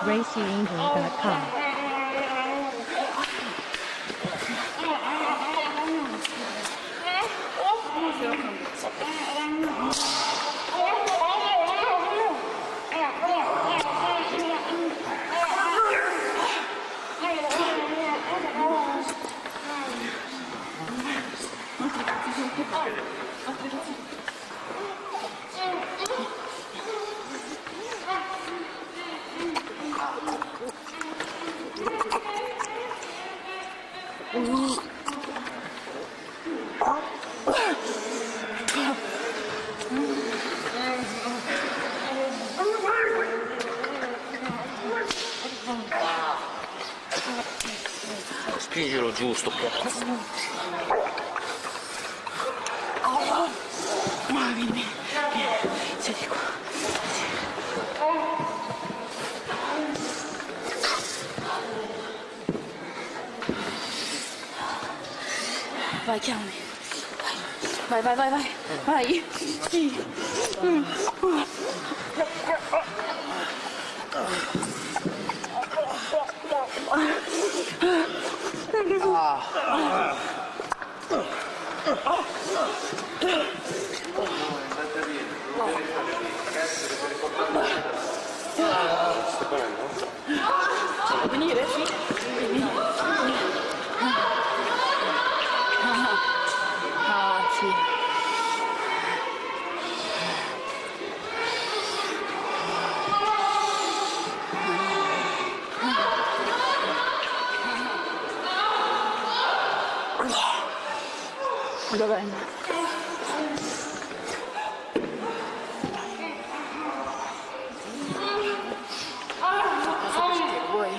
GracieAngel.com. Spingilo giusto qua. Ma vieni, siedi qua. Vai, chiamami. Vai, vai, vai, vai. Vai. Vuoi venire? Sì. Sì. Dov'è? Cosa che vuoi?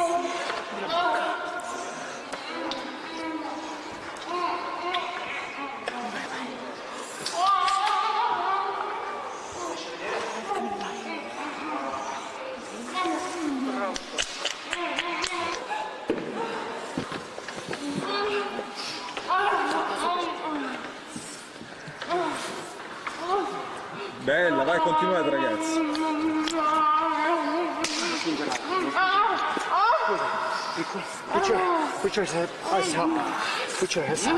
Bella, vai, continuate ragazzi. Put your eyes up. Put your hands up.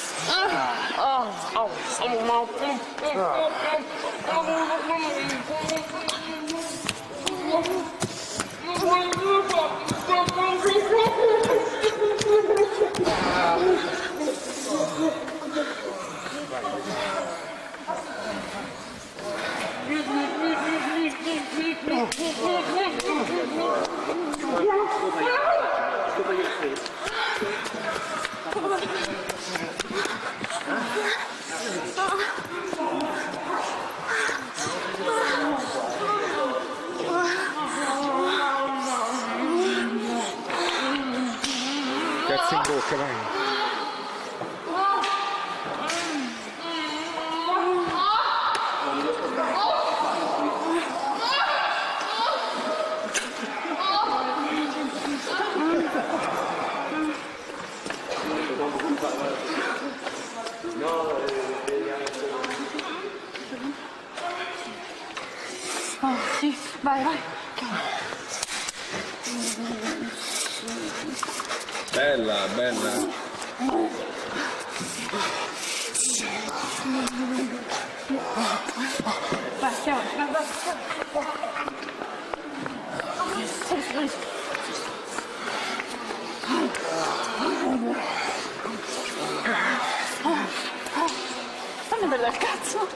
Cazzo in bocca, vai. Oh, sì, vai, vai. Bella, bella. Vai, chiama, vai, vai. Fammi bella il cazzo.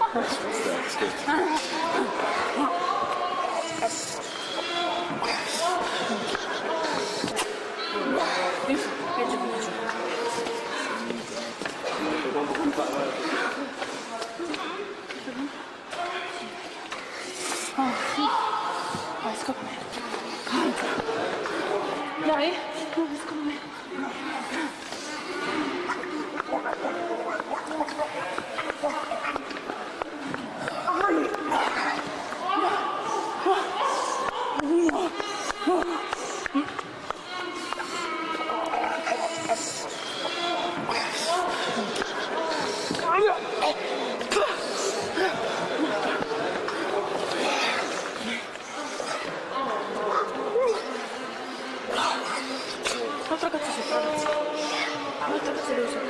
Vai, scopri. Dai, scopri. Molto razzeloso.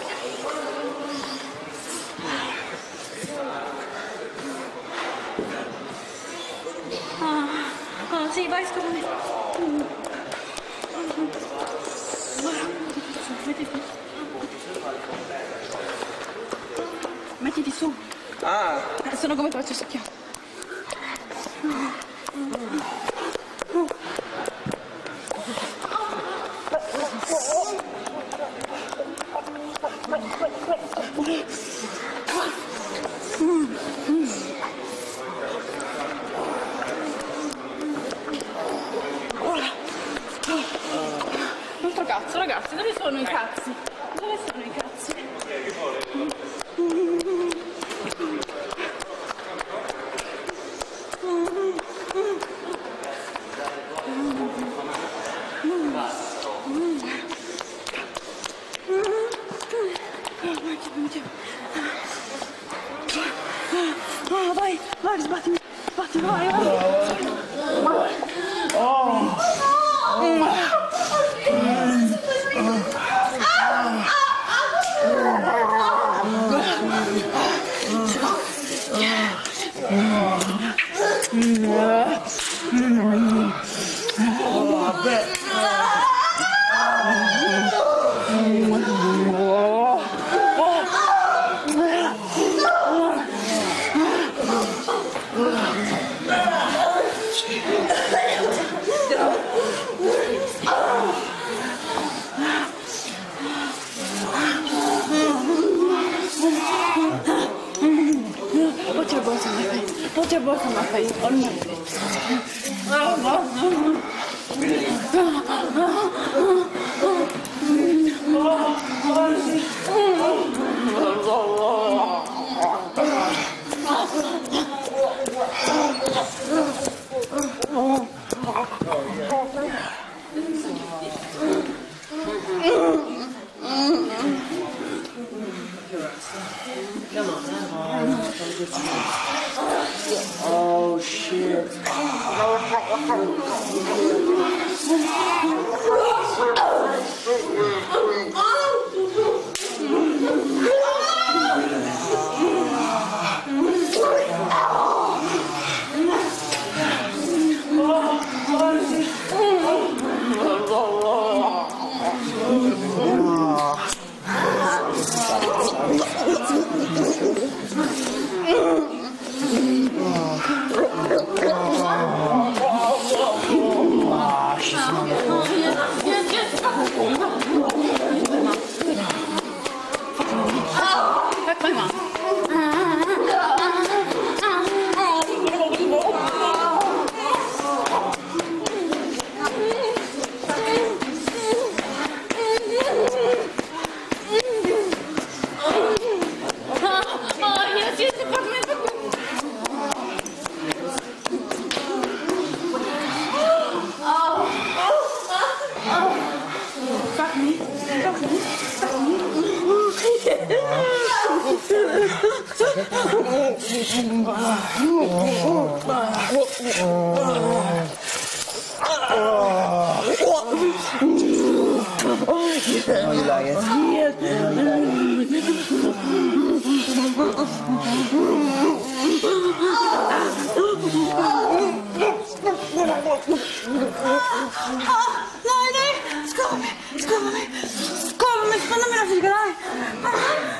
Sì, vai, scopami. Mettiti su. Ah! Sono come faccio sacchiato. Altro cazzo, ragazzi, dove sono i cazzi? Dove sono i cazzi? Vai, vai, sbattimi, sbattimi, vai, vai. Put your book on my face. On my face. Oh shit. Oh, you like Dai, scopami, spannami la figa, dai.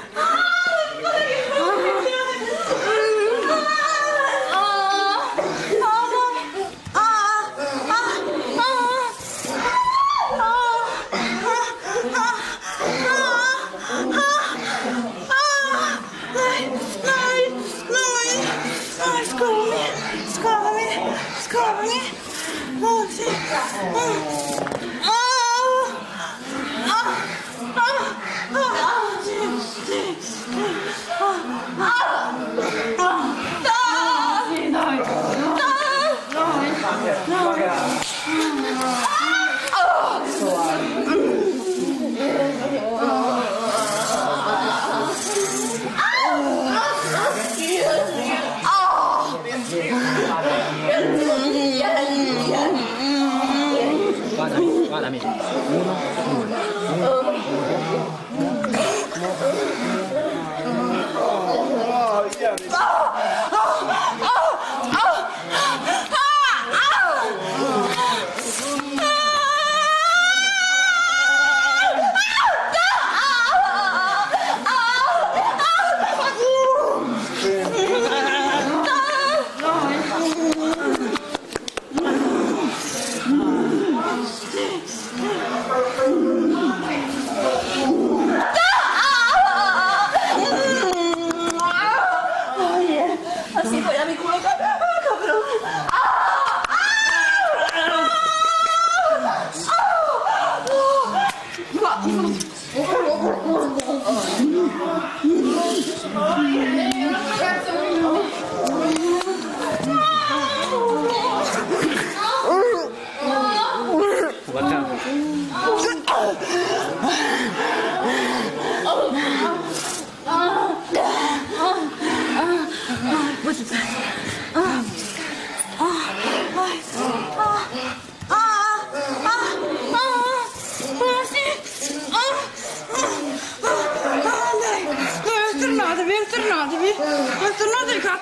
Scopami. Oh, sì. Guardami. 1, 2.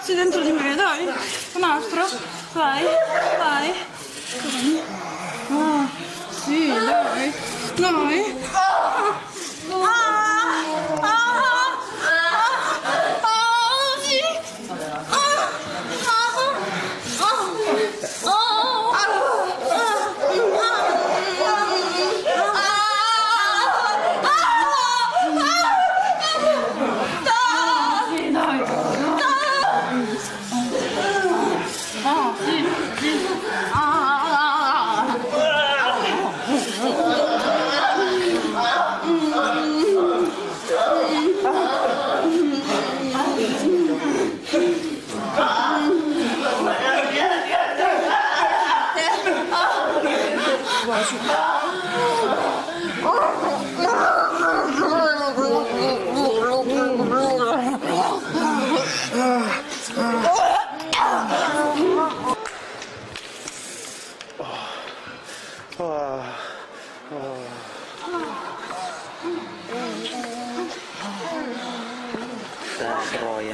Sei dentro di me, dai. Un altro. Vai, vai. Ah, sì, dai. Dai. Sì. Troia.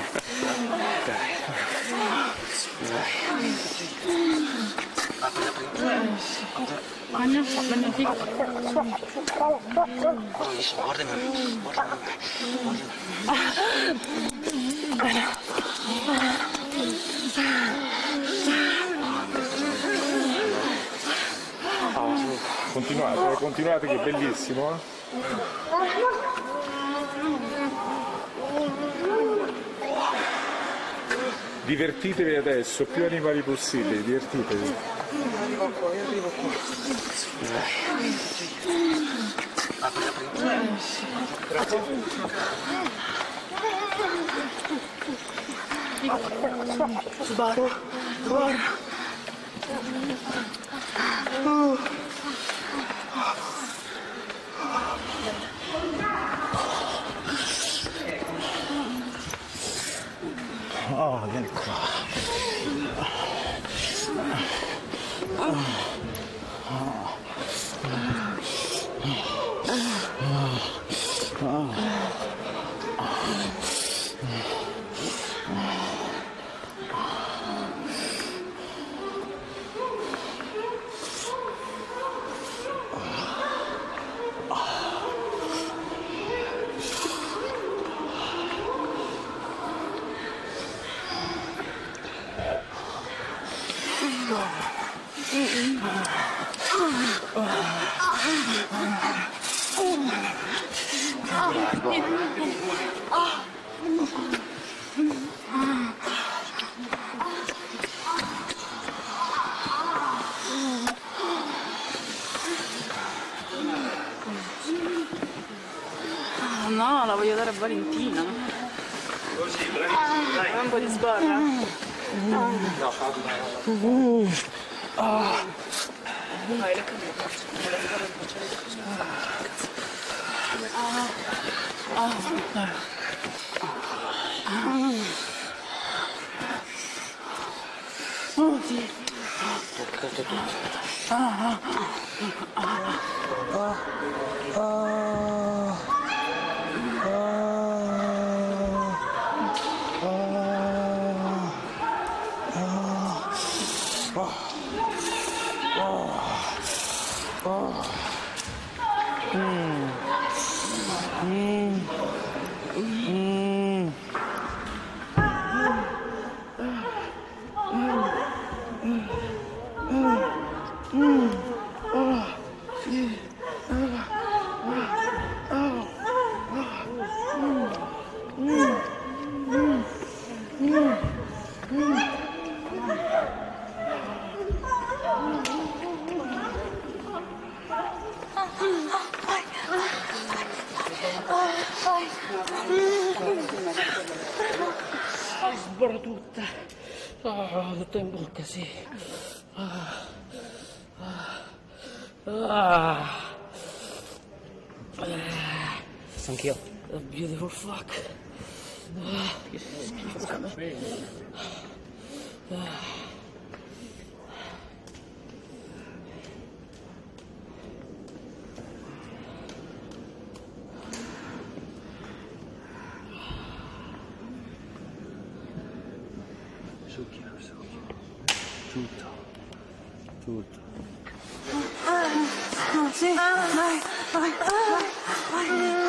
Continuate, continuate che è bellissimo, eh? Divertitevi adesso, più animali possibili, divertitevi. Arrivo qua. Sbarro. Oh, vieni qua. No, la voglio dare a Valentina. Un po' di sbarra. Vai, le oh sì. Toccate tutto. Sborro tutta. Tutta in bocca, sì. Anch'io. A beautiful fuck. Che schifo a me. Tutto. Sì, vai, vai, vai, vai,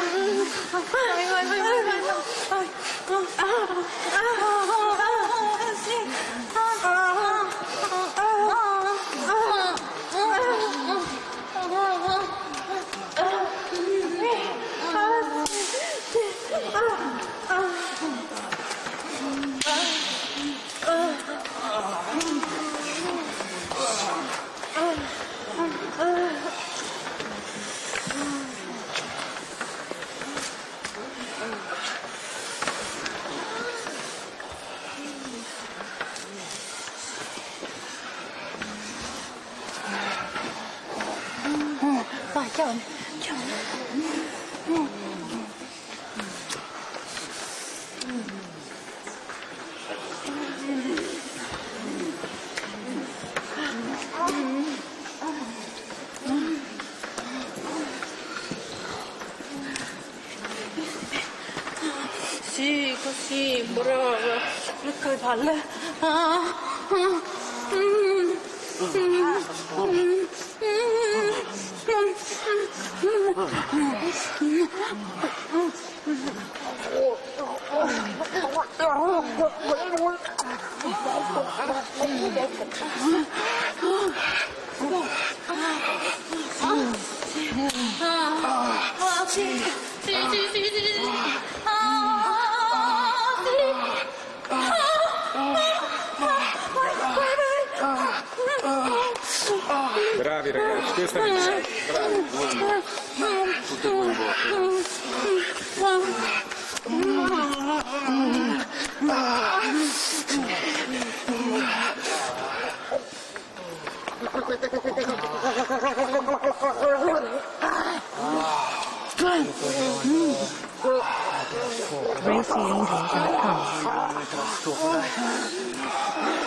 vai, chiamami, chiamami. Sì, così, brava. Ecco le palle. Sì, sì, sì, sì, sì. Bravi ragazzi, questa è la bravi. Tutte e due in RacyAngels.com.